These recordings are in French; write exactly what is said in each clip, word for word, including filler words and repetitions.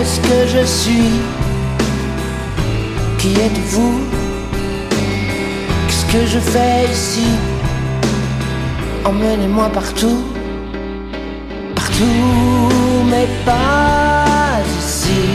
est-ce que je suis? Qui êtes-vous? Qu'est-ce que je fais ici? Emmenez-moi partout, partout, mais pas ici.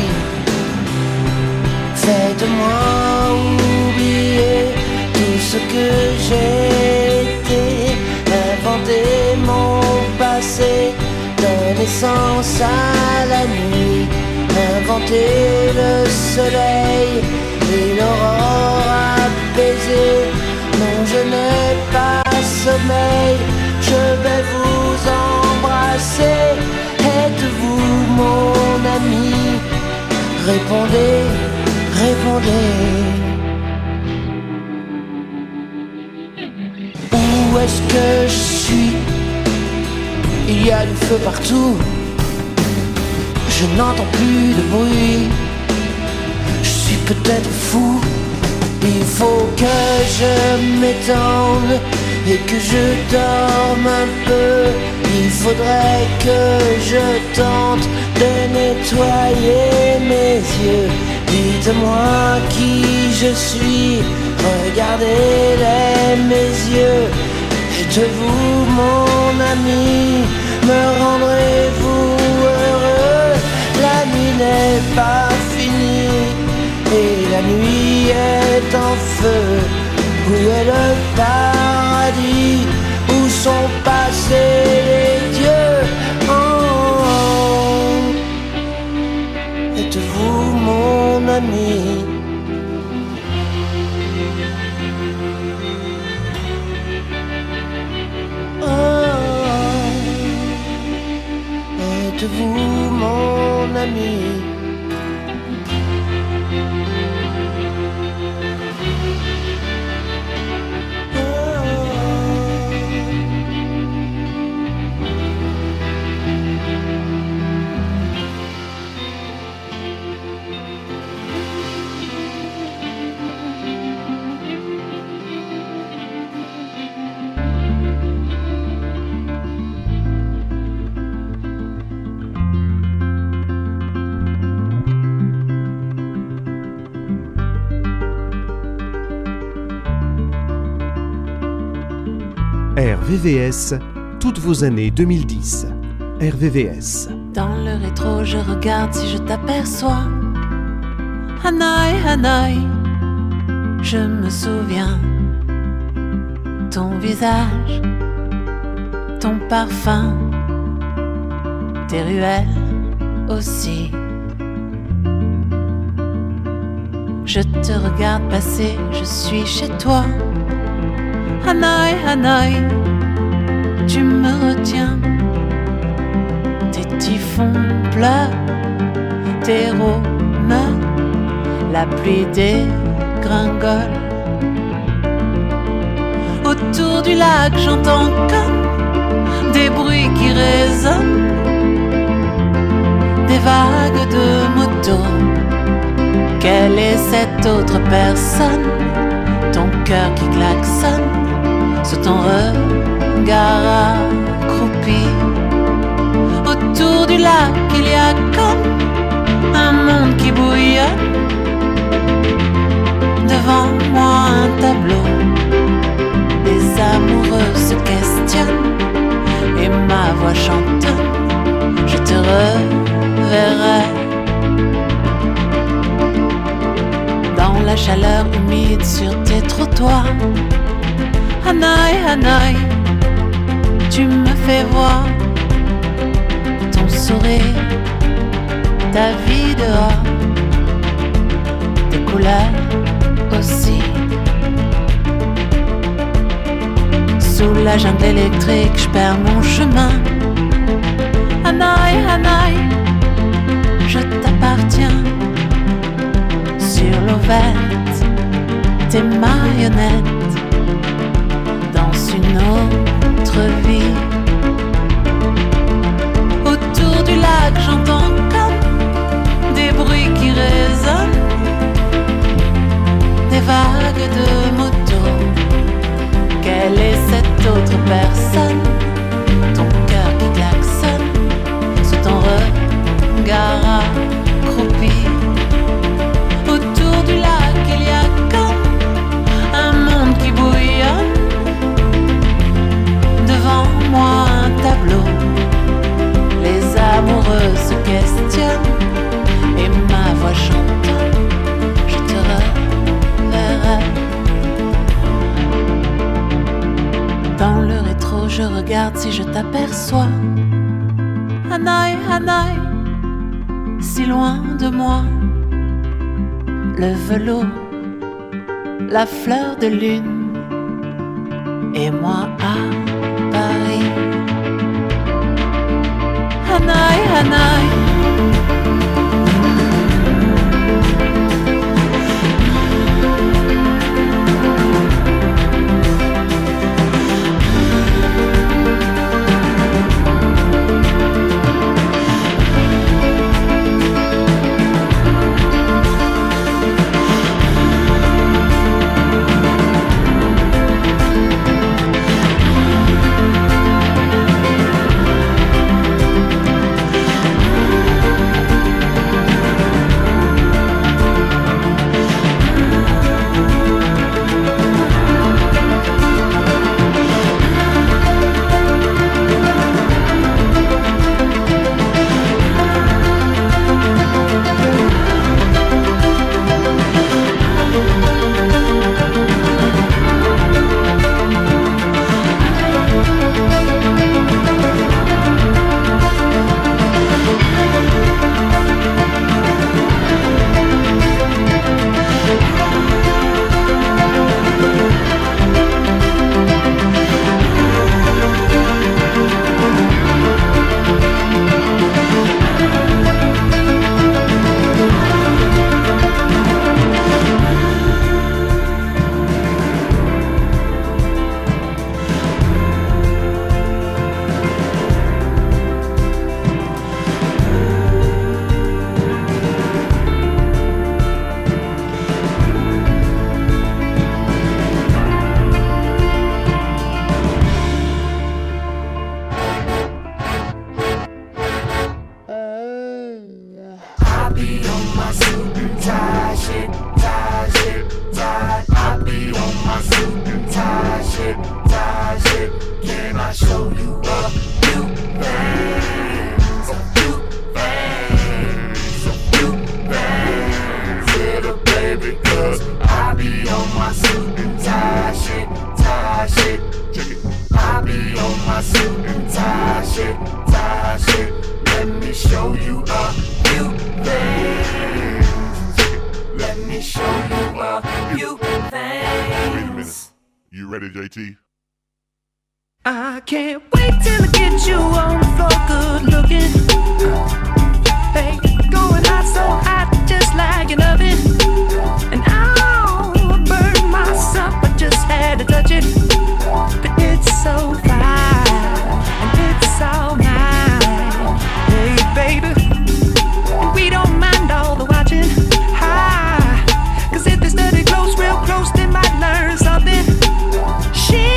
Faites-moi oublier tout ce que j'ai été. Inventez mon passé, donner sens à la nuit. Inventer le soleil et l'aurore apaisée. Non, je n'ai pas sommeil, je vais vous embrasser. Êtes-vous mon ami? Répondez, répondez. Où est-ce que je suis? Il y a du feu partout. Je n'entends plus de bruit. Je suis peut-être fou. Il faut que je m'étende et que je dorme un peu. Il faudrait que je tente de nettoyer mes yeux. Dites-moi qui je suis, regardez-les mes yeux. Êtes-vous mon ami? Me rendrez-vous heureux? La nuit n'est pas finie et la nuit est en feu. Où est le paradis? Où sont passés les dieux? Oh, êtes-vous mon ami? Oh, êtes-vous mon ami? R V V S, toutes vos années deux mille dix. R V V S. Dans le rétro, je regarde si je t'aperçois. Hanaï, Hanaï, je me souviens. Ton visage, ton parfum, tes ruelles aussi. Je te regarde passer, je suis chez toi. Hanaï, Hanaï, tu me retiens. Tes typhons pleurent, tes rhônes, la pluie dégringole. Autour du lac, j'entends comme des bruits qui résonnent, des vagues de motos. Quelle est cette autre personne? Ton cœur qui klaxonne sous ton regard accroupi. Autour du lac, il y a comme un monde qui bouillonne. Devant moi, un tableau. Les amoureux se questionnent et ma voix chantonne. Je te reverrai dans la chaleur humide sur tes trottoirs. Hanaï, Hanaï, tu me fais voir ton sourire, ta vie dehors, tes couleurs aussi. Sous la jungle électrique, je perds mon chemin. Hanaï, Hanaï, je t'appartiens. Sur l'eau verte, tes marionnettes dansent une autre vie. Autour du lac, j'entends comme des bruits qui résonnent, des vagues de motos. Quelle est cette autre personne? Ton cœur qui klaxonne sous ton regard accroupi. moi le velours, la fleur de lune, et moi à Paris. Hanaï, Hanaï. I can't wait till I get you on the floor, good looking. Hey, going hot, so hot, just like an oven. And I'll burn myself, I just had to touch it. But it's so fine, and it's all mine. Hey, baby, we don't mind all the watching. Hi, cause if they study close, real close, they might learn something. She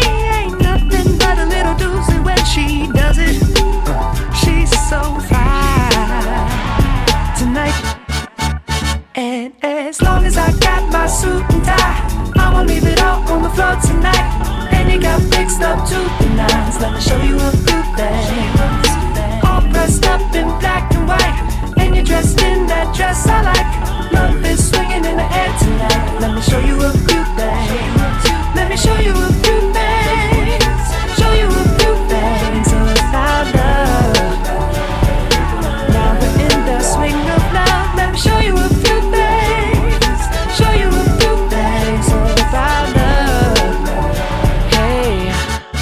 she does it, she's so fine tonight. And as long as I got my suit and tie, I'ma leave it all on the floor tonight. And you got fixed up to the nines, let me show you a few things. All dressed up in black and white, and you're dressed in that dress I like. Love is swinging in the air tonight, let me show you a few things. Let me show you a few things. Show you a few things about love. Now we're in the swing of love. Let me show you a few things. Show you a few things about love. Hey,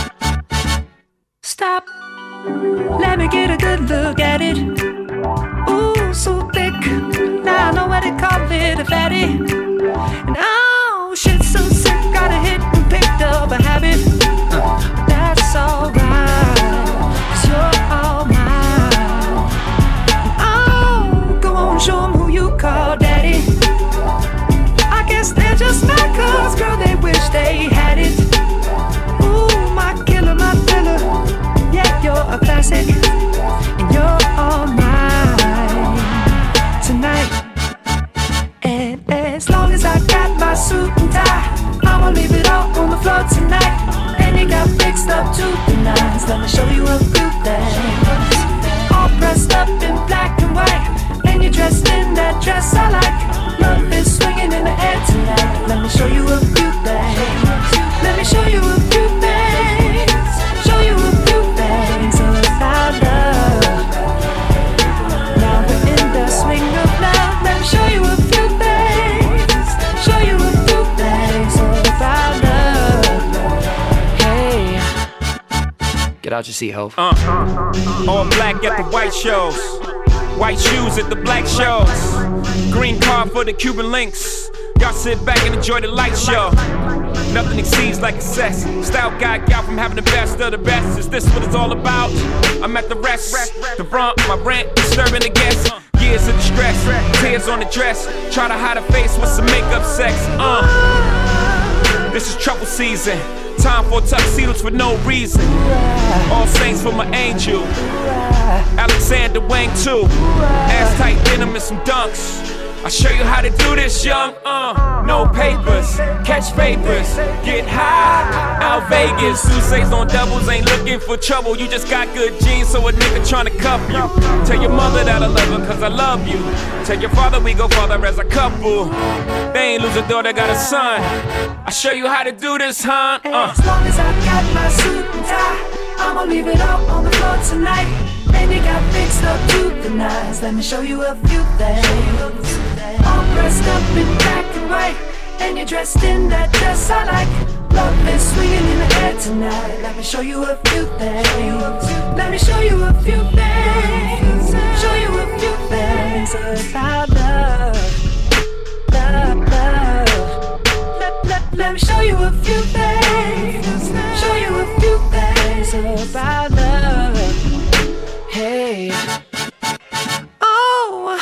stop. Let me get a good look at it. Ooh, so thick. Now I know what they call it, a fatty. And oh, shit, so sick. Got a hit and picked up a habit. Uh, that's alright, cause you're all mine. Oh, go on, show them who you call daddy. I guess they're just mad cause, girl, they wish they had it. Ooh, my killer, my thriller. Yeah, you're a classic, and you're all mine tonight. And as long as I got my suit and tie, I'ma leave it all on the floor tonight. And you got fixed up to the nines, let me show you a few things. All dressed up in black and white, and you're dressed in that dress I like. Love is swinging in the air tonight, let me show you a few things. Let me show you a few things. Show you a few things about love. Now we're in the swing of love. Let out your seat, Hov. Uh, all black at the white shows, white shoes at the black shows, green card for the Cuban links. Y'all sit back and enjoy the light show. Nothing exceeds like excess. Style guy out from having the best of the best. Is this what it's all about? I'm at the rest, the brunt, my rent, disturbing the guests. Years of distress, tears on the dress. Try to hide a face with some makeup sex. Uh, this is trouble season. Time for tuxedos for no reason. All saints for my angel. Alexander Wang too. Ass tight denim and some dunks. I'll show you how to do this, young. Uh, no papers, catch papers, get high. Out Vegas, Sousa's on doubles, ain't looking for trouble. You just got good genes, so a nigga tryna cuff you. Tell your mother that I love her, cause I love you. Tell your father we go farther as a couple. They ain't lose a daughter, got a son. I'll show you how to do this, huh? Uh. As long as I got my suit and tie, I'ma leave it all on the floor tonight. And you got fixed up to the nines. Let me show you a few things. All dressed up in black and white, and you're dressed in that dress I like. Love is swinging in the air tonight. Let me show you a few things. Let me show you a few things. Show you a few things about love, love, love. Let, let, let me show you a few things. Show you a few things about love. Hey. Oh.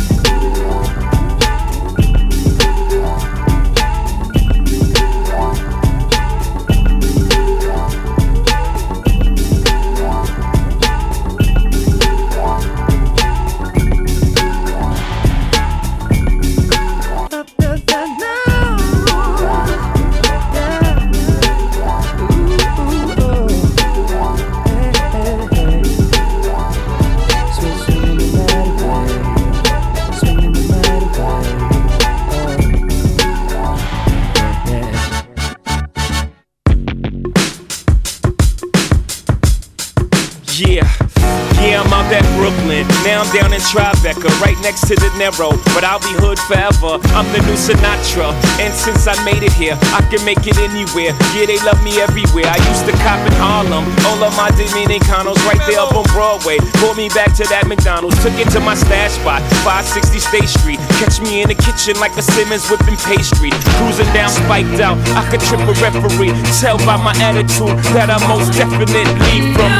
Now I'm down in Tribeca, right next to De Niro, but I'll be hood forever. I'm the new Sinatra, and since I made it here, I can make it anywhere. Yeah, they love me everywhere. I used to cop in Harlem, all of my Dominicanos right there up on Broadway. Pulled me back to that McDonald's, took it to my stash spot, five sixty State Street. Catch me in the kitchen like a Simmons whipping pastry. Cruising down spiked out, I could trip a referee. Tell by my attitude that I'm most definitely from.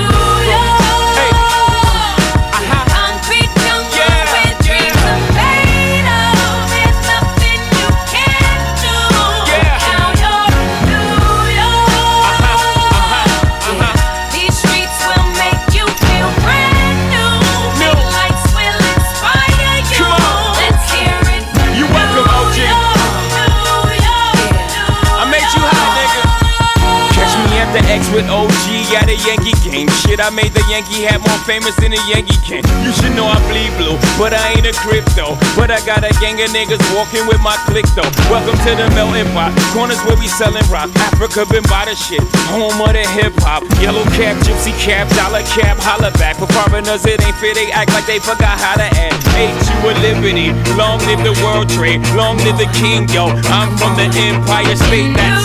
With O G at a Yankee game. Shit, I made the Yankee hat more famous than a Yankee can. You should know I bleed blue, but I ain't a crypto. But I got a gang of niggas walking with my click though. Welcome to the melting pot. Corners where we selling rock. Africa been by the shit. Home of the hip hop. Yellow cap, gypsy cap, dollar cap, holla back. For foreigners it ain't fair, they act like they forgot how to act. Ain't you a liberty? Long live the world trade. Long live the king, yo. I'm from the Empire State. That's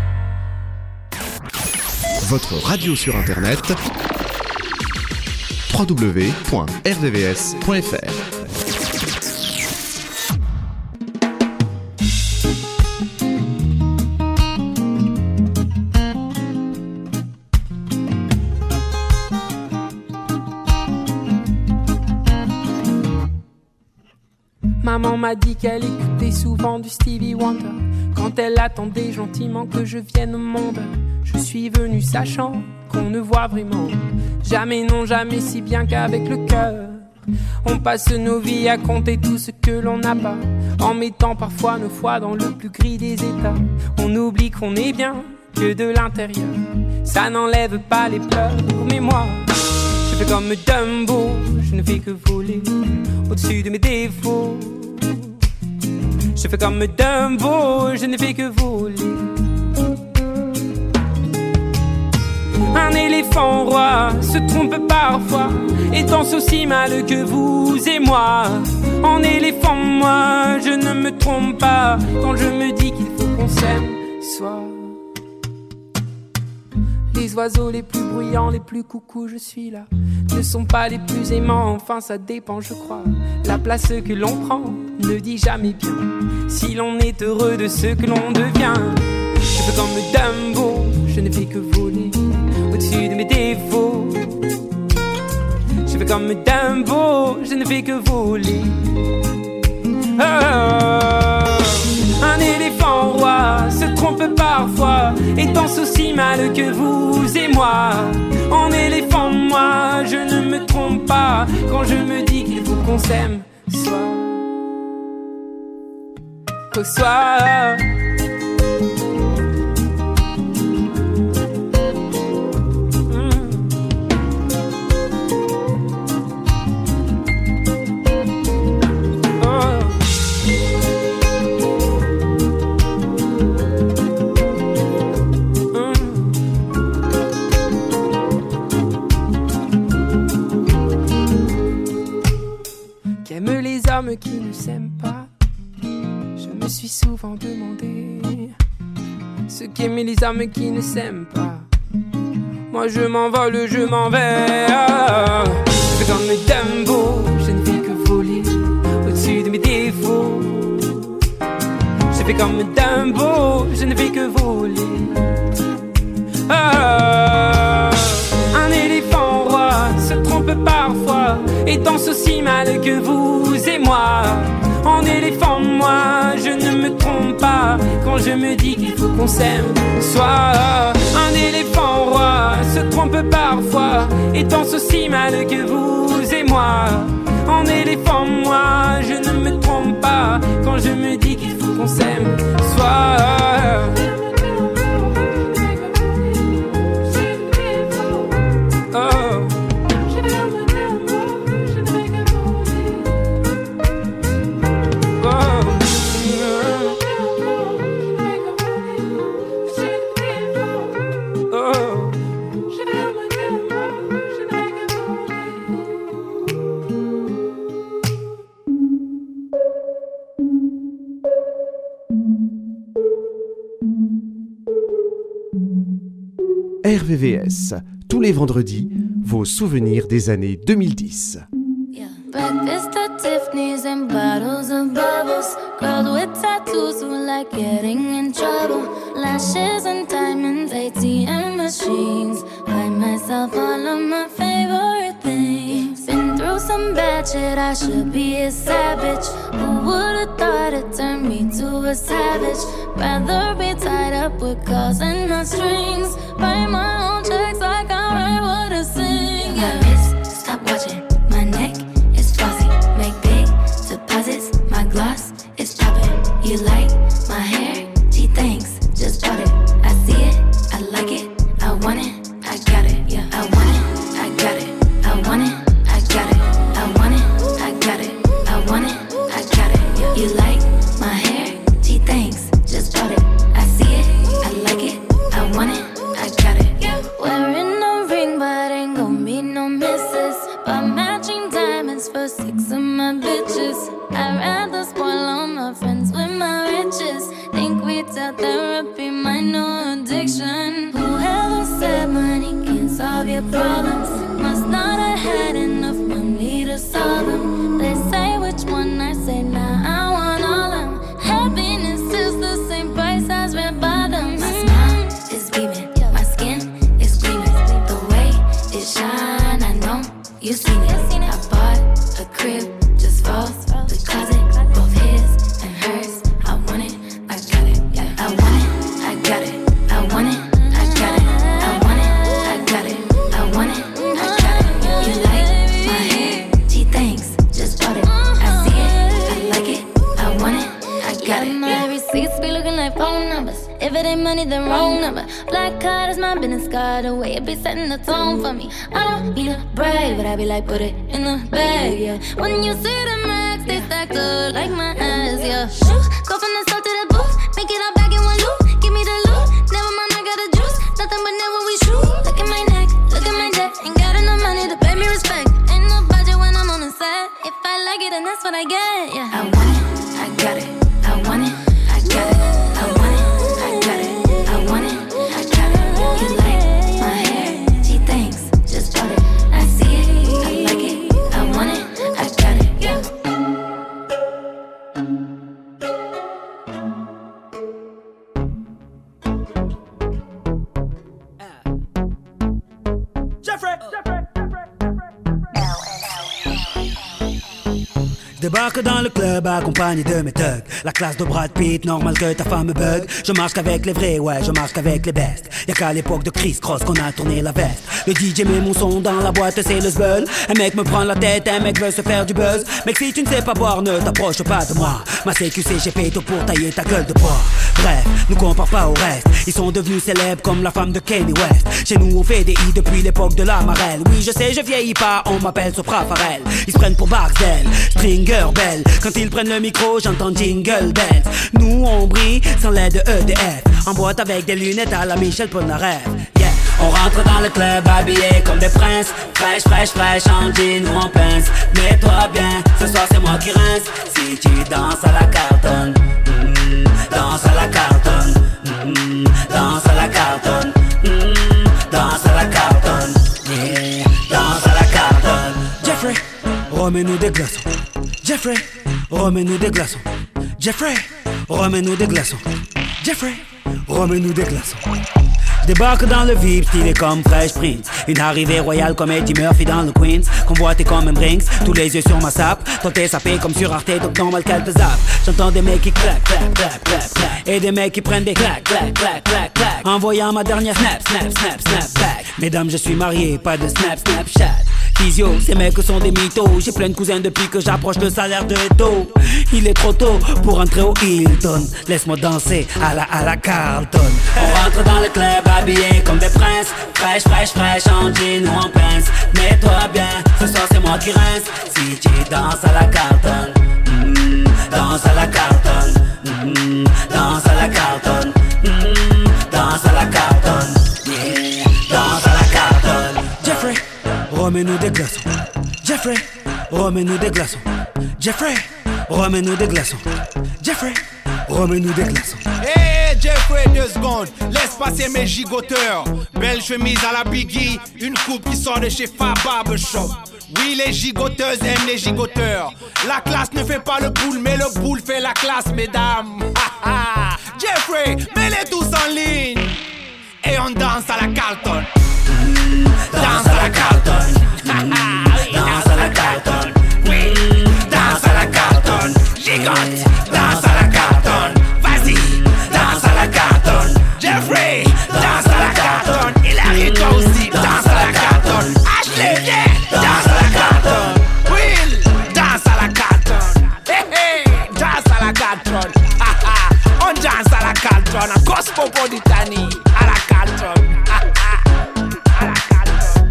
Votre radio sur internet w w w point r v v s point f r. Maman m'a dit qu'elle écoutait souvent du Stevie Wonder quand elle attendait gentiment que je vienne au monde. Je suis venu sachant qu'on ne voit vraiment jamais, non jamais, si bien qu'avec le cœur. On passe nos vies à compter tout ce que l'on n'a pas, en mettant parfois nos foi dans le plus gris des états. On oublie qu'on est bien que de l'intérieur, ça n'enlève pas les pleurs. Mais moi, je fais comme Dumbo, je ne fais que voler au-dessus de mes défauts. Je fais comme Dumbo, je ne fais que voler. Un éléphant roi se trompe parfois et danse aussi mal que vous et moi. En éléphant, moi, je ne me trompe pas quand je me dis qu'il faut qu'on s'aime soit. Les oiseaux les plus bruyants, les plus coucous, je suis là, ne sont pas les plus aimants, enfin ça dépend je crois. La place que l'on prend ne dit jamais bien si l'on est heureux de ce que l'on devient. Je fais comme Dumbo, je ne fais que voler au-dessus de mes défauts. Je fais comme Dumbo, je ne fais que voler. Oh, un éléphant roi se trompe parfois et danse aussi mal que vous et moi. En éléphant, moi, je ne me trompe pas quand je me dis qu'il faut qu'on s'aime soit. Au soir. Qui ne s'aiment pas, je me suis souvent demandé ce qu'aimaient les âmes qui ne s'aiment pas. Moi je m'envole, je m'en vais. Ah, je fais comme Dumbo, je ne fais que voler au-dessus de mes défauts. Je fais comme Dumbo, je ne fais que voler. Ah, un éléphant roi se trompe parfois et danse aussi mal que vous et moi. En éléphant, moi, je ne me trompe pas quand je me dis qu'il faut qu'on s'aime soit. Un éléphant roi se trompe parfois et danse aussi mal que vous et moi. En éléphant, moi, je ne me trompe pas quand je me dis qu'il faut qu'on s'aime soit. R V V S, tous les vendredis, vos souvenirs des années deux mille dix. Yeah. Breakfast at Tiffany's and bottles of bubbles. Girls with tattoos who like getting in trouble. Lashes and diamonds, A T M machines. Buy myself all of my favorite things. Been through some bad shit, I should be a savage. Who would've thought it turned me to a savage? Rather be tied up with calls and not strings. Write my own checks like I write what I sing. Yeah. My wrist, stop watching. My neck is flossy. Make big deposits. My gloss is popping. You like my hair? Gee, thanks. Just bought it. I see it. I like it. I want it. I got it. Yeah. I want it. I got it. I want it. I got it. I want it. I got it. I want it. I got it. Yeah. You like my hair? Gee, thanks. Just bought it. I see it. I like it. I want it. I got it. Yeah. Wearing a ring, but ain't gon' be no misses. But matching diamonds for six of my bitches. I'd rather spoil all my friends with my riches. Think retail therapy, my new addiction. Whoever said money can't solve your problems must not have had enough. If it ain't money, then wrong number. Black card is my business card. The way it be setting the tone for me. I don't need a brag, but I be like, put it in the bag, yeah. When you see the max, they stacked up like my ass, yeah. Shoot, go from the start to the booth. Make it all back in one loop. Give me the loot. Never mind, I got the juice. Nothing but never we shoot. Look at my neck, look at my debt. Ain't got enough money to pay me respect. Ain't no budget when I'm on the set. If I like it, then that's what I get, yeah. I want it, I got it. I want it, I got it. I want it, I got it. I want it, I got it. You like my hair? She thinks, just bought it. I see it, I like it. I want it, I got it, yeah. Je débarque dans le club accompagné de mes thugs. La classe de Brad Pitt, normal que ta femme me bug. Je marche qu'avec les vrais, ouais, je marche qu'avec les bestes. Y'a qu'à l'époque de Chris Cross qu'on a tourné la veste. Le D J met mon son dans la boîte, c'est le zbeul. Un mec me prend la tête, un mec veut se faire du buzz. Mec, si tu ne sais pas boire, ne t'approche pas de moi. Ma C Q C, j'ai fait tout pour tailler ta gueule de bois. Bref, nous compare pas au reste. Ils sont devenus célèbres comme la femme de Kanye West. Chez nous on fait des hits depuis l'époque de la marelle. Oui je sais je vieillis pas, on m'appelle Sopra Farel. Ils se prennent pour Barcel, Stringer Bell. Quand ils prennent le micro j'entends Jingle Bells. Nous on brille sans l'aide de E D F. En boîte avec des lunettes à la Michel Polnareff. Yeah. On rentre dans le club habillé comme des princes. Fraîche, fraîche, fraîche, en jean ou en pince. Mets-toi bien, ce soir c'est moi qui rince. Si tu danses à la cartonne, mm, danse à la cartonne, mm, danse à la cartonne, mm, danse à la cartonne, yeah, danse à la cartonne. Jeffrey, remets-nous des glaçons. Jeffrey, remets-nous des glaçons. Jeffrey, remets-nous des glaçons. Jeffrey, remets-nous des glaçons. Débarque dans le V I P, stylé comme Fresh Prince. Une arrivée royale comme Eddie Murphy dans le Queens. Convoité comme un Brinks, tous les yeux sur ma sape. Toi t'es sapé comme sur Arte, donc normal qu'elle te zappe. J'entends des mecs qui claquent, claquent, claquent, claquent, claquent. Et des mecs qui prennent des claques, claques, claques, claques, claques. Envoyant ma dernière snap, snap, snap, snap back. Mesdames, je suis marié, pas de snap, snapchat. Physio, ces mecs sont des mythos. J'ai plein de cousins depuis que j'approche le salaire de Eto. Il est trop tôt pour entrer au Hilton. Laisse-moi danser à la à la Carlton. On rentre dans le club habillé comme des princes. Fraîche, fraîche, fraîche, en jean ou en pince. Mets-toi bien, ce soir c'est moi qui rince. Si tu danses à la Carlton, mm, danse à la Carlton, mm, danse à la Carlton, mm, danse à la Carlton, yeah, danse à la Carlton. Jeffrey, remets-nous des glaçons. Jeffrey, remets-nous des glaçons. Jeffrey, remets-nous des glaçons. Jeffrey, remets-nous des glaçons. Hey Jeffrey, deux secondes, laisse passer mes gigoteurs. Belle chemise à la Biggie, une coupe qui sort de chez Fab Barbershop. Oui, les gigoteuses aiment les gigoteurs. La classe ne fait pas le boule, mais le boule fait la classe, mesdames. Jeffrey, mets-les tous en ligne. Et on danse à la Carlton. Danse à la Carlton. Danse à la Carlton. Oui, danse à la Carlton. Gigote, danse à la Carlton. Vas-y, danse à la Carlton. Jeffrey, danse à la Carlton. Hilary, toi aussi, danse à la Carlton. Ashley, viens, danse à la Carlton. Will, danse à la Carlton. Hey, hey, danse à la Carlton. On danse à la Carlton. À Cosmopolitanie, à la Carlton. À la Carlton.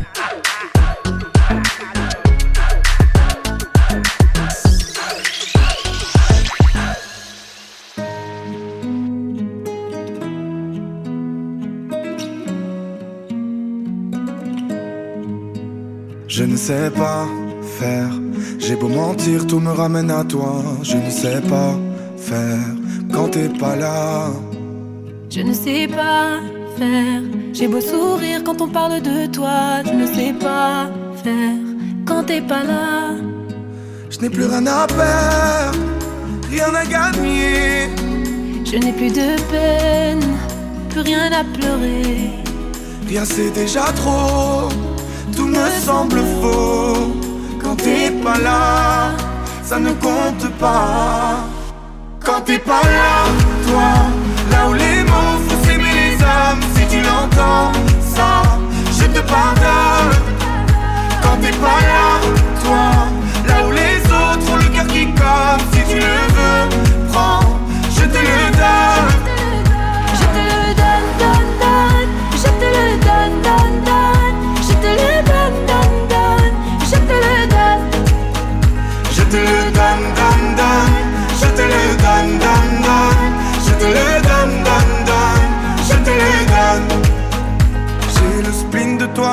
Je ne sais pas faire, j'ai beau mentir, tout me ramène à toi. Je ne sais pas faire quand t'es pas là. Je ne sais pas faire, j'ai beau sourire quand on parle de toi. Je ne sais pas faire quand t'es pas là. Je n'ai plus rien à perdre, rien à gagner. Je n'ai plus de peine, plus rien à pleurer. Rien c'est déjà trop, tout me semble faux. Quand t'es pas là, ça ne compte pas. Quand t'es pas là, toi, là où les mots font s'aimer les âmes. Si tu l'entends, ça, je te pardonne. Quand t'es pas là, toi, là où les autres ont le cœur qui colle. Si tu le veux, prends, je te le donne. Je te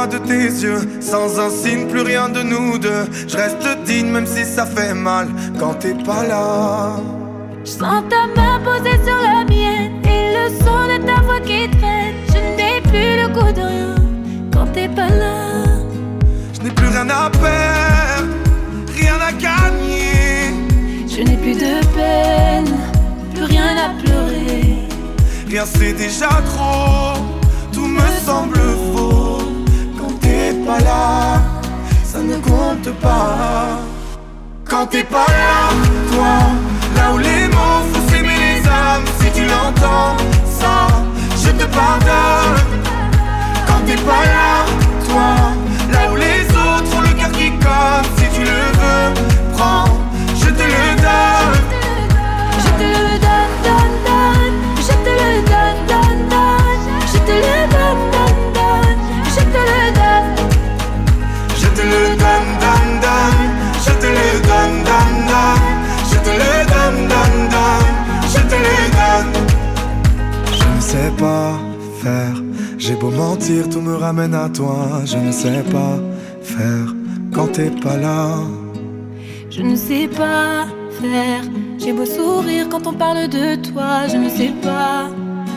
loin de tes yeux, sans un signe, plus rien de nous deux. Je reste digne même si ça fait mal quand t'es pas là. Je sens ta main posée sur la mienne et le son de ta voix qui traîne. Je n'ai plus le goût de rien quand t'es pas là. Je n'ai plus rien à perdre, rien à gagner. Je n'ai plus de peine, plus rien à pleurer. Rien c'est déjà trop, tout me semble faux. Quand t'es pas là, ça ne compte pas. Quand t'es pas là, toi, là où les mots font s'aimer les âmes. Si tu l'entends, ça, je te pardonne. Quand t'es pas là, toi, là où les autres ont le cœur qui cogne. Si tu le veux, prends, je te le donne. Je te le donne, donne, donne. Je te le donne, donne, donne. Je te le donne, donne, donne. Je te le donne. Je te le donne, donne, donne. Je te le donne, donne, donne. Je te le donne, donne, donne. Je te le donne. Je ne sais pas faire. J'ai beau mentir, tout me ramène à toi. Je ne sais pas faire quand t'es pas là. Je ne sais pas faire. J'ai beau sourire quand on parle de toi. Je ne sais pas.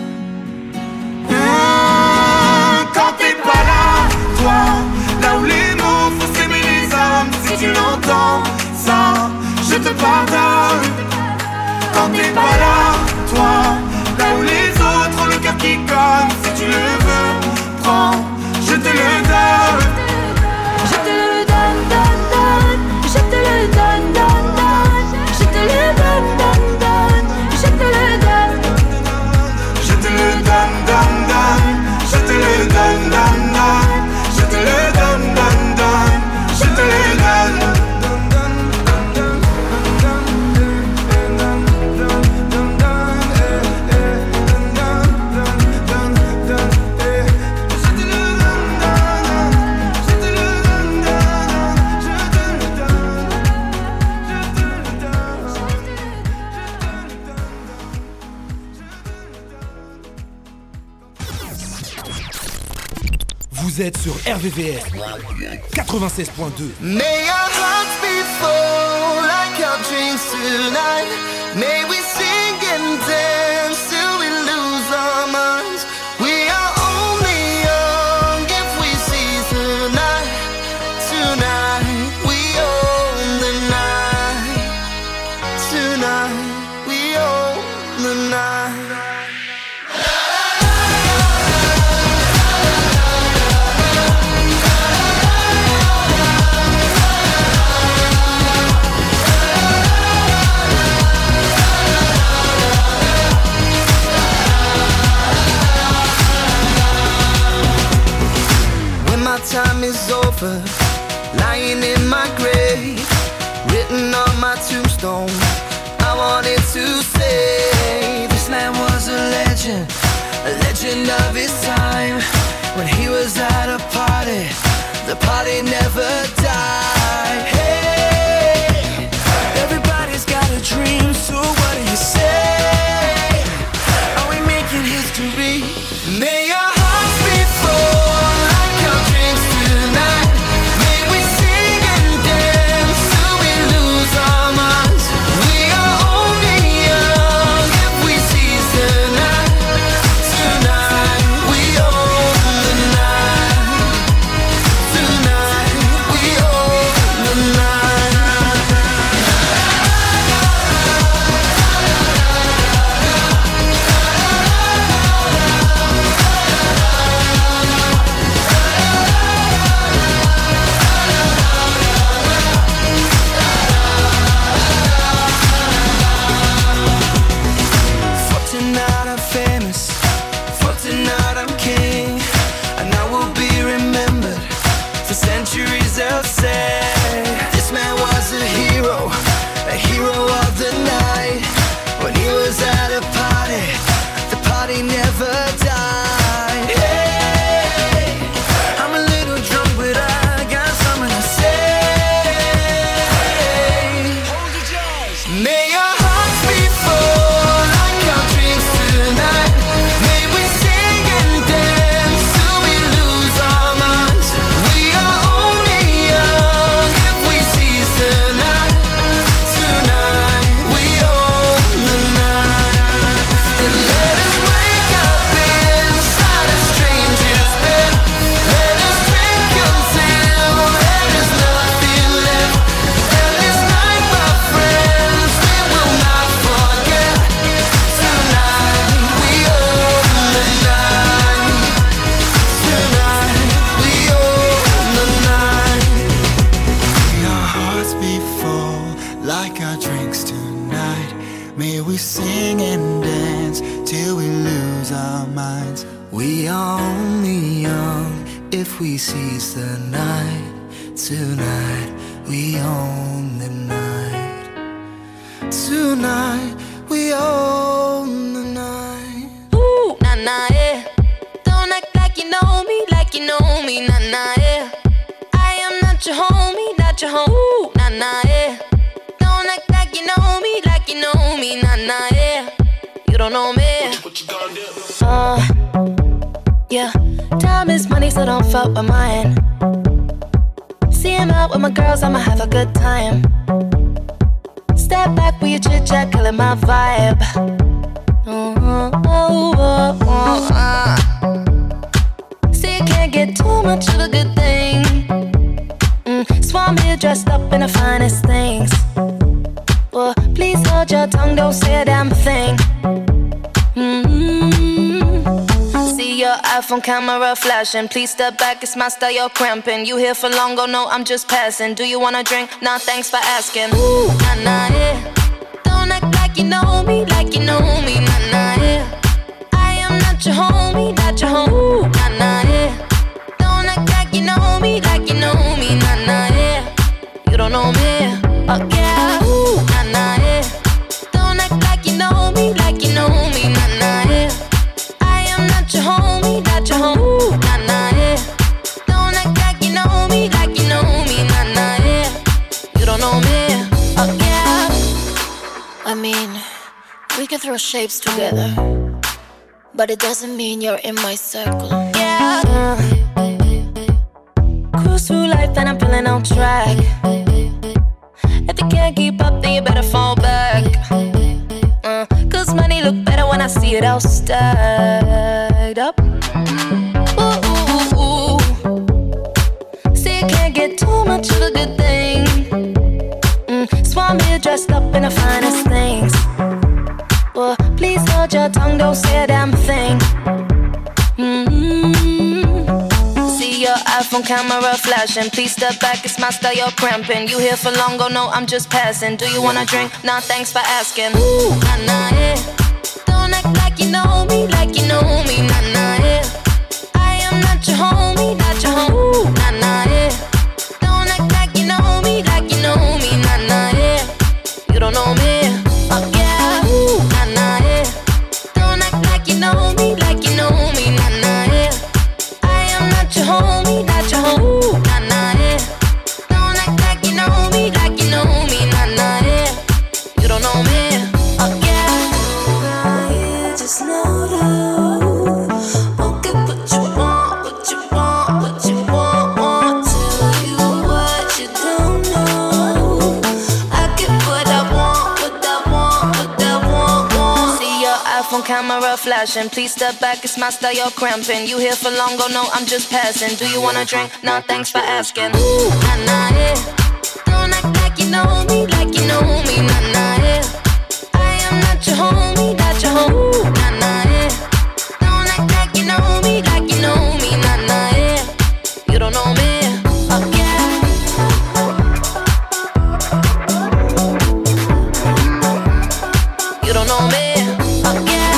Mmh, quand t'es pas là, toi, là où les mots font s'aimer les âmes. Si tu l'entends, ça, je te pardonne. Quand t'es pas là, toi, là où les autres ont le cœur qui cogne. Si tu le veux, prends, je te le donne. Je te le donne, donne, donne. Je te le donne, donne, donne. Je te le donne, donne, donne. Je te le donne. Je te le donne, donne, donne. Je te le donne, donne, donne. Je te le donne, donne, donne. Je te le donne. Vous êtes sur R V V S quatre-vingt-seize point deux. May our hearts be full like our dreams tonight. May we sing and dance till we lose our minds. We are only young if we seize the night. Tonight we own the night. Tonight we own the night. Time is over, lying in my grave, written on my tombstone. I wanted to say this man was a legend, a legend of his time. When he was at a party, the party never died. Hey, everybody's got a dream, so what do you say? Are we making history? May our hearts be full. minds. We are only young if we seize the night. Tonight we own the night. Tonight we own the night. Ooh, nah nah yeah. Don't act like you know me, like you know me, nah nah yeah. I am not your homie, not your home. Ooh, nah nah yeah. Don't act like you know me, like you know me, nah nah yeah. You don't know me. What you, what you gonna do? Uh, yeah. Time is money, so don't fuck with mine. See him out with my girls, I'ma have a good time. Step back with your chit chat, killing my vibe. Oh, oh, oh, oh, uh. See, you can't get too much of a good thing. Mm, Swam here dressed up in the finest things. Well, please hold your tongue, don't say a damn thing. Mm-hmm. See your iPhone camera flashing. Please step back, it's my style, you're cramping. You here for long, oh no, I'm just passing. Do you wanna drink? Nah, thanks for asking. Ooh, nah, nah, yeah. Don't act like you know me, like you know me, nah, nah, yeah. I am not your homie, not your home. Ooh, nah, nah, yeah. Don't act like you know me, like you know me, nah, nah, yeah. You don't know me, oh yeah. Ooh, nah, nah, yeah. Don't act like you know me, like you know me, nah, nah, yeah. I am not your homie, not your home. Ooh, nah, nah, yeah. Don't act like you know me, like you know me, nah, nah, yeah. You don't know me, oh yeah. I mean, we can throw shapes together, but it doesn't mean you're in my circle. Yeah. Uh, cruise through life and I'm feeling on track. If you can't keep up, then you better fall back. Uh, Cause money look better when I see it all stacked up. Ooh, ooh, ooh. See, you can't get too much of a good thing. Mm, Swam here dressed up in the finest things. Well, please hold your tongue, don't say a damn thing. Mm-hmm. See your iPhone camera flashing. Please step back, it's my style, you're cramping. You here for long, oh no, I'm just passing. Do you wanna drink? Nah, thanks for asking. Ooh, nah, nah, yeah. Don't act like you know me, like you know me, nah, nah, yeah. I am not your homie, not your home. Ooh, nah, nah, yeah. Don't act like you know me, like you know me, nah, nah, yeah. You don't know me, oh yeah. Ooh, nah, nah, yeah. Don't act like you know me, like you know me, nah, nah, yeah. I am not your homie, not your home. Ooh, nah, nah, yeah. Don't act like you know me, like you know me, nah, nah, yeah. You don't know me, oh yeah. Now you just know that. Okay, what you want, what you want, what you want, want. Tell you what you don't know. I get what I want, what I want, what I want, want. See your iPhone camera flashing. Please step back, it's my style, you're cramping. You here for long, oh no, I'm just passing. Do you wanna drink? Nah, thanks for asking. Ooh, nah, nah, yeah. Don't act like you know me, like you know me, nah, nah, yeah. I am not your homie, not your home. Ooh, nah, nah, yeah. Don't act like you know me, like you know me, nah, nah, yeah. You don't know me, oh yeah. You don't know me, oh yeah.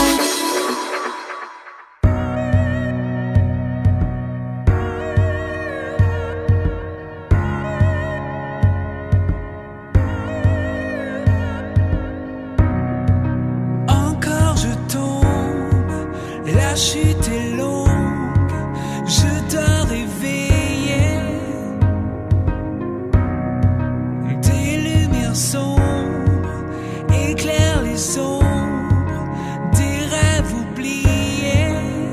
Encore je tombe, la chute est longue, je dois réveiller. Des lumières sombres éclairent les ombres, des rêves oubliés.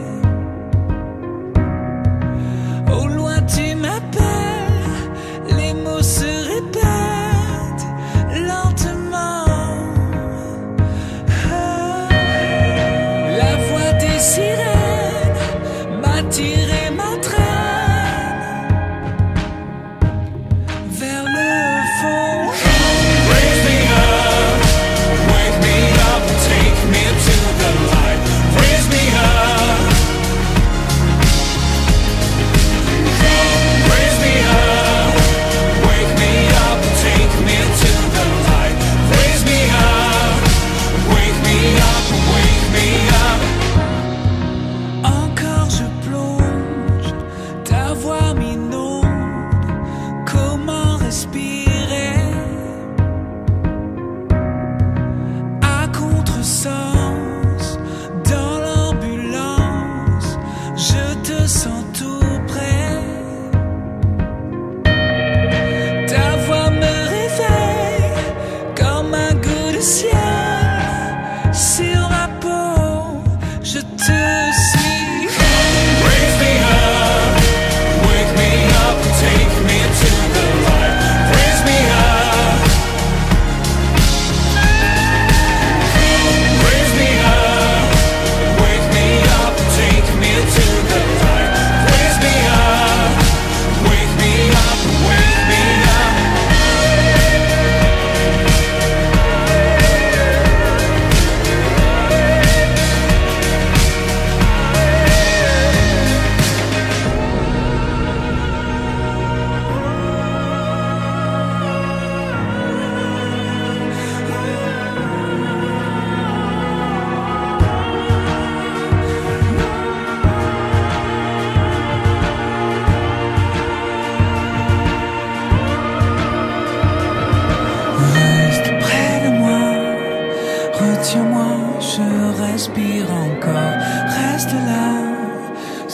Au loin tu m'appelles, les mots se répètent lentement. Ah, la voix des sirènes m'attire et m'entraîne vers le fond. Raise me up, wake me up, take me to the light. Raise me up, raise me up, wake me up, take me to the light. Raise me up, wake me up, wake me up.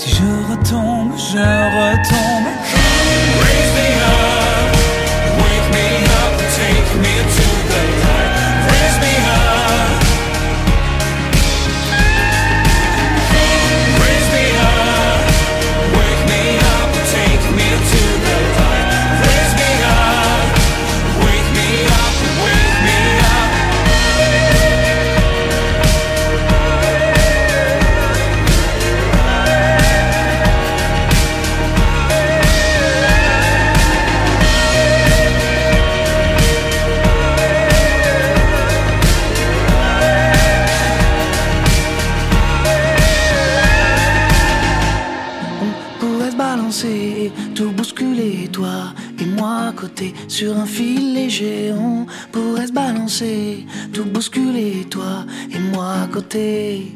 Si je retombe, je retombe. Raise me up, wake me up, take me to the light. Raise me up, raise me up, wake me up, take me to the light. Raise me up, wake me up, wake me up. Tout bousculer, toi et moi à côté, sur un fil léger. On pourrait se balancer, tout bousculer, toi et moi à côté.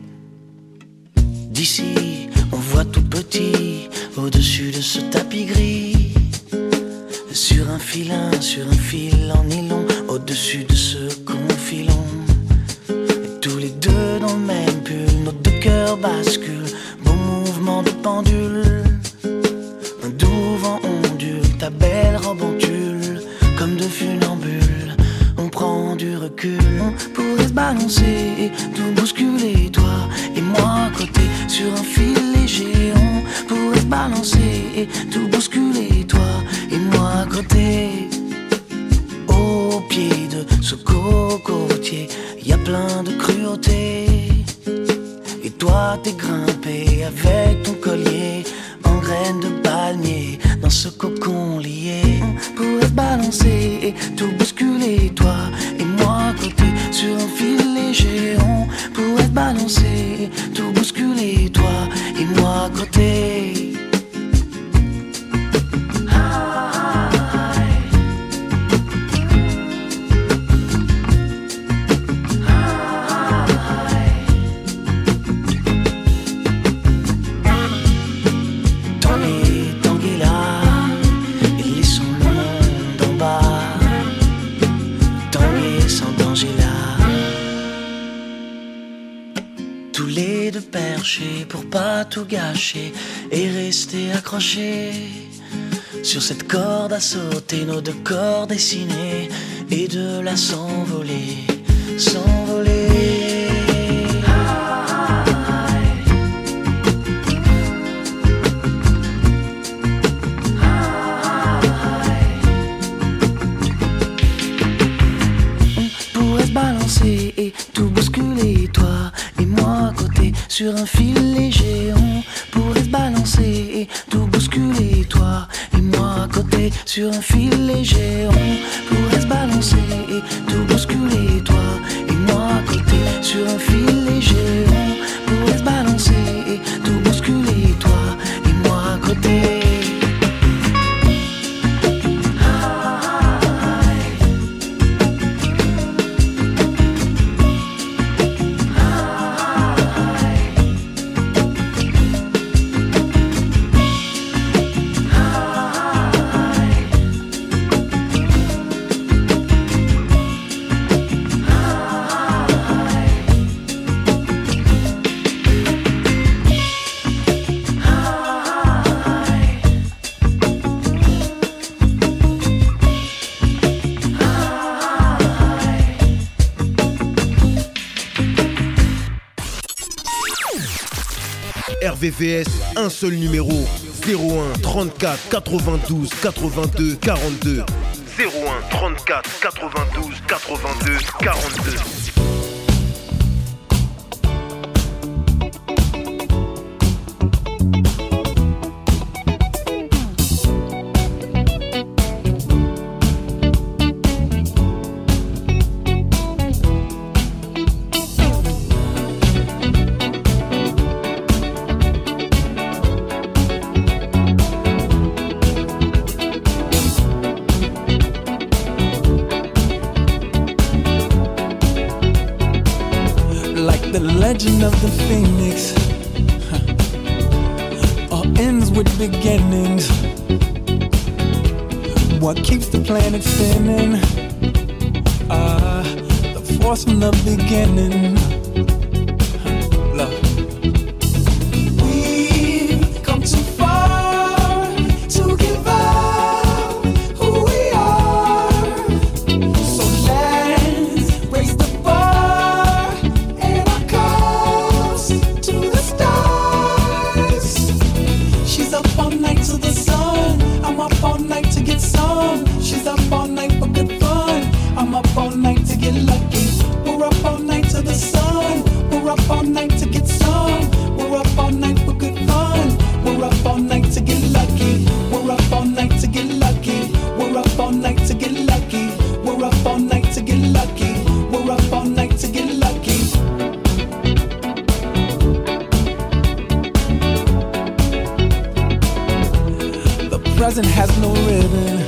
D'ici, on voit tout petit, au-dessus de ce tapis gris. Sur un filin, sur un fil en nylon, au-dessus de ce confilon. Et tous les deux dans le même pull, nos deux cœurs basculent, beau mouvement de pendule. Un doux vent ondule, ta belle robe en tulle, comme de funambules. On prend du recul, on pourrait se balancer, tout bousculer, toi et moi à côté, sur un fil léger. On pourrait se balancer, tout bousculer, toi et moi à côté. Au pied de ce cocotier, y a plein de cruauté. Et toi t'es grimpé avec ton collier en graines de palmier, dans ce cocon lié. On pourrait se balancer, tout bousculer, toi et moi à côté, sur un fil léger. On pourrait se balancer, tout bousculer, toi et moi à côté. Pour pas tout gâcher et rester accroché sur cette corde à sauter, nos deux corps dessinés, et de là s'envoler, s'envoler. On pourrait se balancer et tout bousculer, toi et moi à côté, sur un fil léger. On pourrait se balancer et tout bousculer, toi et moi à côté, sur un fil léger. On pourrait se balancer et tout bousculer, toi et moi à côté, sur un fil léger. On pourrait se balancer et tout bousculer, toi et moi à côté. R V V S, un seul numéro, zéro un trente-quatre quatre-vingt-douze quatre-vingt-deux quarante-deux. zéro un trente-quatre quatre-vingt-douze quatre-vingt-deux quarante-deux. Legend of the Phoenix, huh. All ends with beginnings. What keeps the planet spinning? Ah, uh, the force from the beginning. Huh. Love. We've present has no ribbon.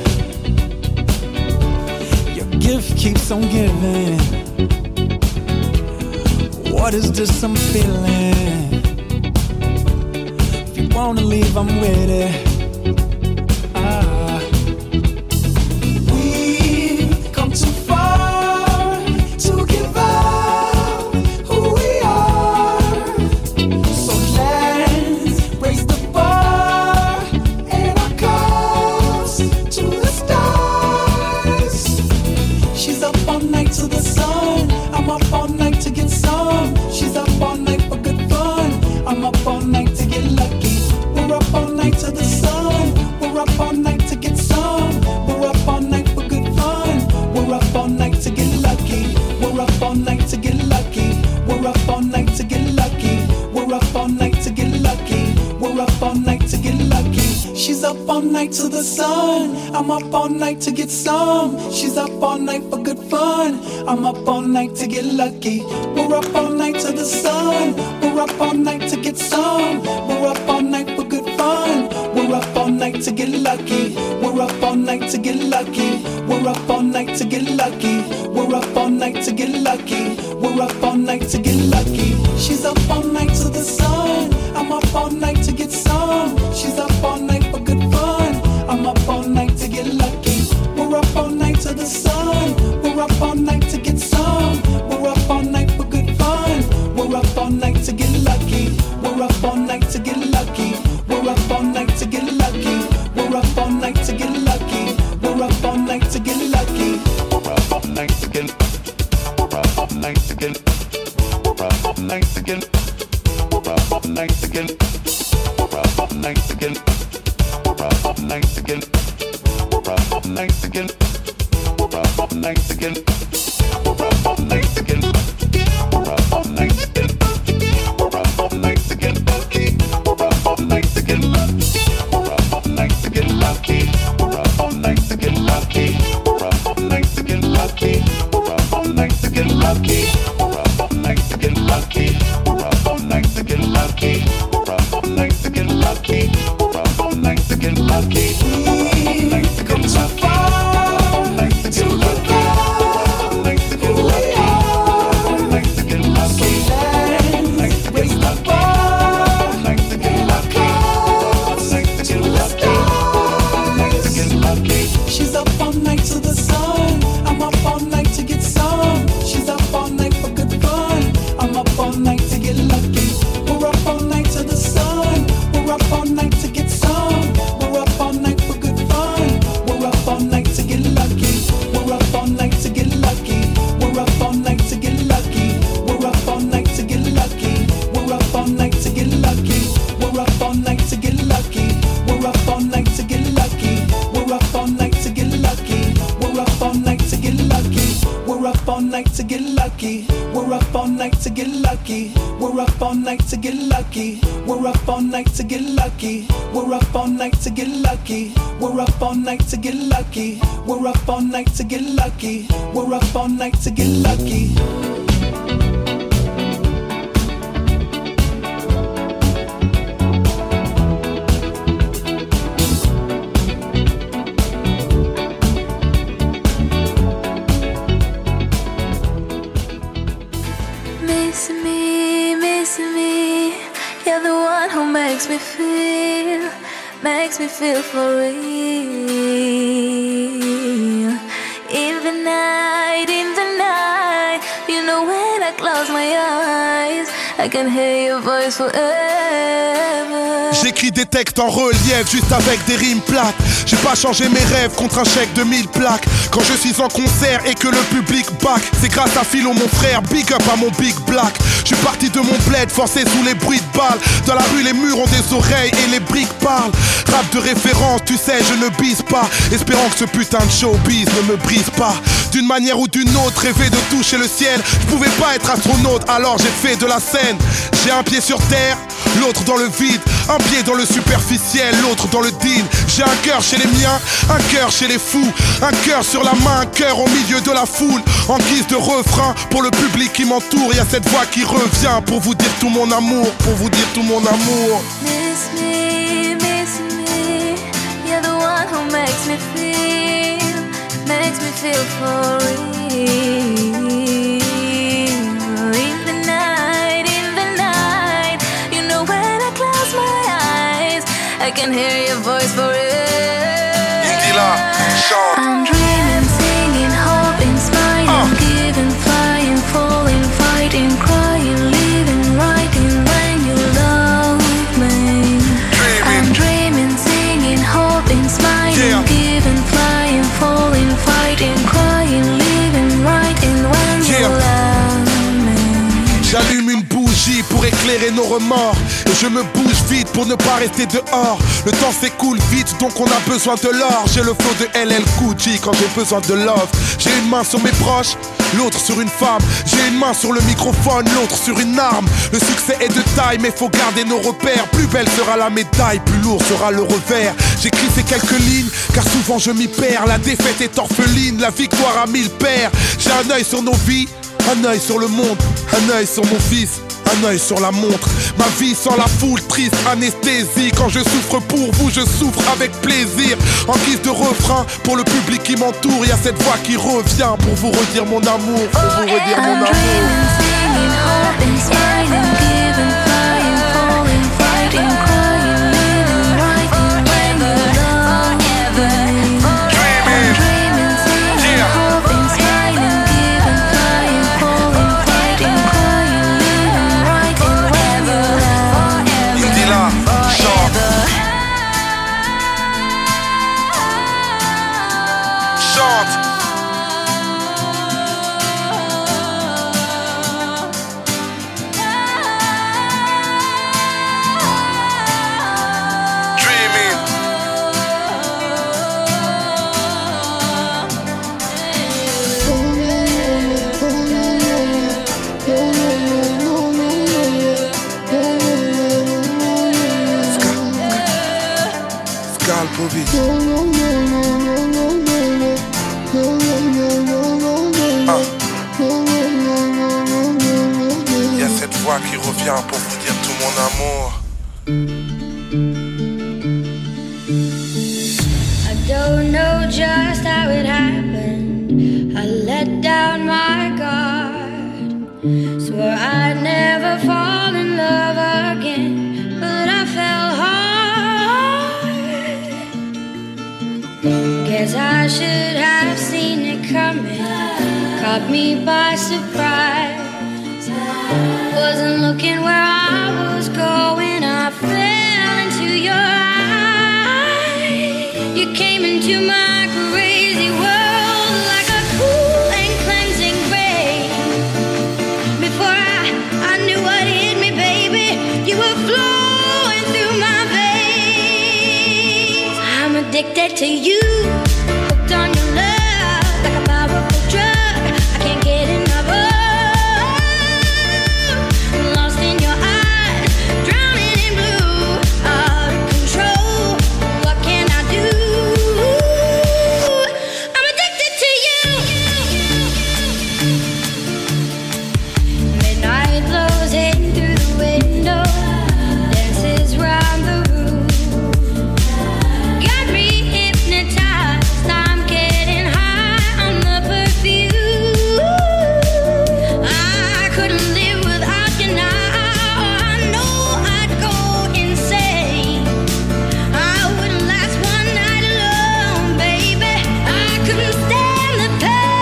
Your gift keeps on giving. What is this I'm feeling? If you wanna leave, I'm with it. Ah. We've come too far to give up who we are. So let's raise the bar and our cups to the stars. She's up all night to the sun. I'm up all night to get some. She's up all night for good fun. I'm up all night to get lucky. We're up all night to the sun. We're up all night to get some. We're up all night for good fun. We're up all night to get lucky. We're up all night to get lucky. We're up all night to get lucky. We're up all night to get lucky. We're up all night to get lucky. She's up all night to the sun. I'm up all night to get some. She's up all night for good fun. I'm up all night to get lucky. We're up all night to the sun. We're up all night to get some. We're up all night for good fun. We're up all night to get lucky. We're up all night to get lucky. We're up all night to get lucky. We're up all night to get lucky. We're up all night to get lucky. She's up all night to the sun. I'm up all night to get some. She's up all night for good fun. I'm up all night to get lucky. We're up all night to the sun. We're up all night to get some. We're up all night for good fun. We're up all night to get lucky. We're up all night to get lucky. We're up all night to get lucky. We're up all night to get lucky. We're up all night to get lucky. We're up all night to get. We're up all night to get. We're up all night to get. We're up all night to get. We're up all night to get. We're up all night to get. We're up all night to get. We're up all night to get. We're up all night to get. We're up all night to get. We're up all night to get lucky. We're up all night to get lucky. We're up all night to get lucky. We're up all night to get lucky. We're up all night to get lucky. We're up all night to get lucky. We're up all night to get lucky. We're up all night to get lucky. We're up all night to get lucky. We're up all night to get lucky. We've come too far to give up who we are. So let's raise the bar and our cups to the stars. She's up all night to the sun. I'm up all night to get some. She's up all night for good fun. I'm up all night to get lucky. We're up all night to the sun. We're up all night to get some. We're up all night for good fun. We're up all night to get lucky. We're up all night to get lucky. We're up all night to get lucky. We're up all night to get lucky. We're up all night to get lucky. We're up all night to get lucky. We're up all night to get lucky. We're up all night to get lucky. We're up all night to get lucky. We're up all night to get lucky. We're up all night to get lucky. We're up all night to get lucky. We're up all night to get lucky. We're up all night to get lucky. We're up all night to get lucky. We're up all night to get lucky. We're up all night to get lucky. Miss me, miss me. You're the one who makes me feel, makes me feel for real. In the night, in the night, you know when I close my eyes, I can hear your voice forever. J'écris des textes en relief, juste avec des rimes plates. J'ai pas changé mes rêves contre un chèque de mille plaques. Quand je suis en concert et que le public back, c'est grâce à Philo mon frère, big up à mon big black. Je suis parti de mon bled, forcé sous les bruits de balles. Dans la rue les murs ont des oreilles et les briques parlent. Rap de référence, tu sais je ne bise pas, espérant que ce putain de showbiz ne me brise pas. D'une manière ou d'une autre, rêver de toucher le ciel. Je pouvais pas être astronaute, alors j'ai fait de la scène. J'ai un pied sur terre, l'autre dans le vide. Un pied dans le superficiel, l'autre dans le deal. J'ai un cœur chez les miens, un cœur chez les fous. Un cœur sur la main, un cœur au milieu de la foule. En guise de refrain, pour le public qui m'entoure, y'a cette voix qui revient pour vous dire tout mon amour, pour vous dire tout mon amour. Miss me, miss me, you're the one feel for real. In the night, in the night, you know when I close my eyes, I can hear your voice for real. I'm dreaming, singing, hoping, smiling, giving, flying, falling, fighting, crying, living, writing when you love me. I'm dreaming, singing, hoping, smiling, giving, flying, falling, fighting, crying, living, writing when you love me. J'allume une bougie pour éclairer nos remords, et je me bouge vite pour ne pas rester dehors. Le temps s'écoule vite, donc on a besoin de l'or. J'ai le flow de L L Cool J quand j'ai besoin de love. J'ai une main sur mes proches, l'autre sur une femme. J'ai une main sur le microphone, l'autre sur une arme. Le succès est de taille, mais faut garder nos repères. Plus belle sera la médaille, plus lourd sera le revers. J'écris ces quelques lignes, car souvent je m'y perds. La défaite est orpheline, la victoire a mille pères. J'ai un œil sur nos vies, un œil sur le monde, un œil sur mon fils, un œil sur la montre. Ma vie sans la foule, triste anesthésie. Quand je souffre pour vous, je souffre avec plaisir. En guise de refrain, pour le public qui m'entoure, y a cette voix qui revient pour vous redire mon amour, pour vous redire mon amour. Il y a cette voix qui revient pour vous dire tout mon amour. I don't know just how it happened. I let down my guard. Swore I'd never fall in love again, but I fell hard. Guess I should have seen it coming. Caught me by surprise. Wasn't looking where I was going. I fell into your eyes. You came into my crazy world like a cool and cleansing rain. Before I, I knew what hit me, baby, you were flowing through my veins. I'm addicted to you, hooked on your love like a powerful drug. I can't get enough of. Lost in your eyes, drowning in blue, out of control. What can I do? I'm addicted to you. Midnight blows in through the window, dances round the room. Got me hypnotized. I'm getting high on the perfume. I couldn't live without you now. I know I'd go insane. I wouldn't last one night alone, baby. I couldn't stand the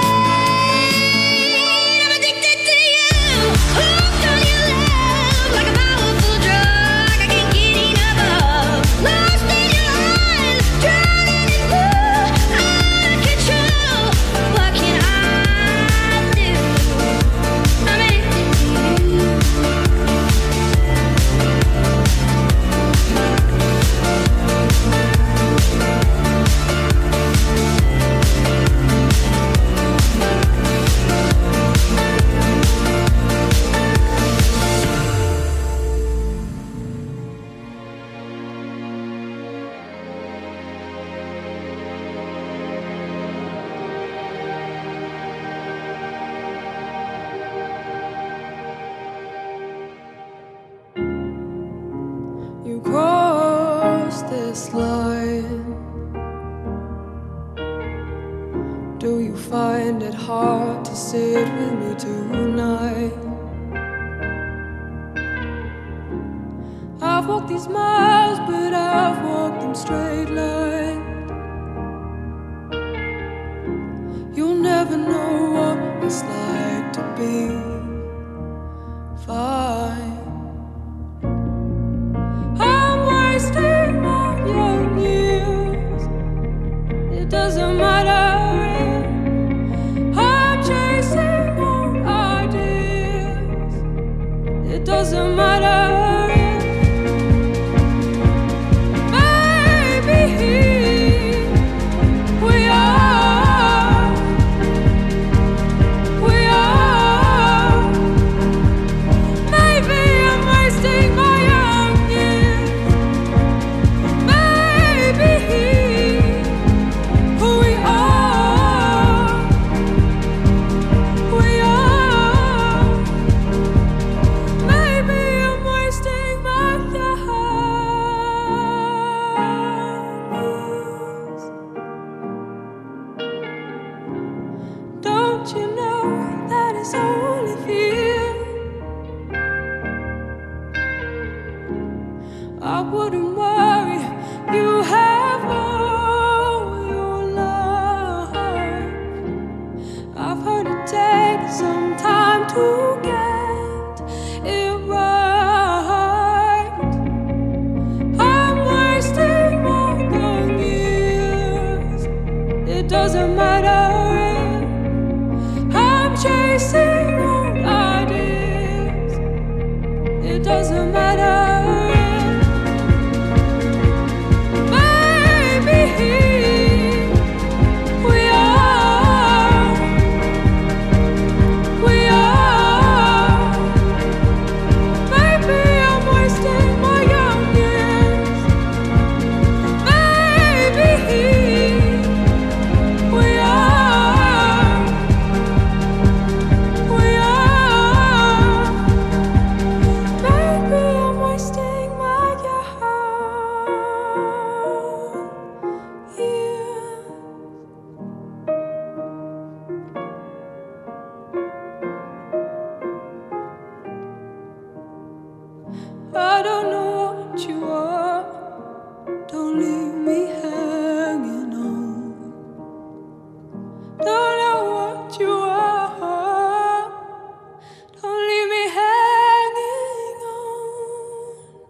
pain. I'm addicted to you, hooked on your love like a powerful drug. I can't get enough of. Lost in your eyes, drowning in blue, out of control. What can I do? I'm addicted to you. You crossed this line. Do you find find it hard to sit with me tonight. I've walked these miles, but I've walked them straight line. You'll never know what it's like to be fine. I'm wasting my young years. It doesn't matter. I'm chasing old ideas. It doesn't matter. I wouldn't worry, you have all your life. I've heard it takes some time to get it right. I'm wasting my young years. It doesn't matter. I'm chasing old ideas. It doesn't matter.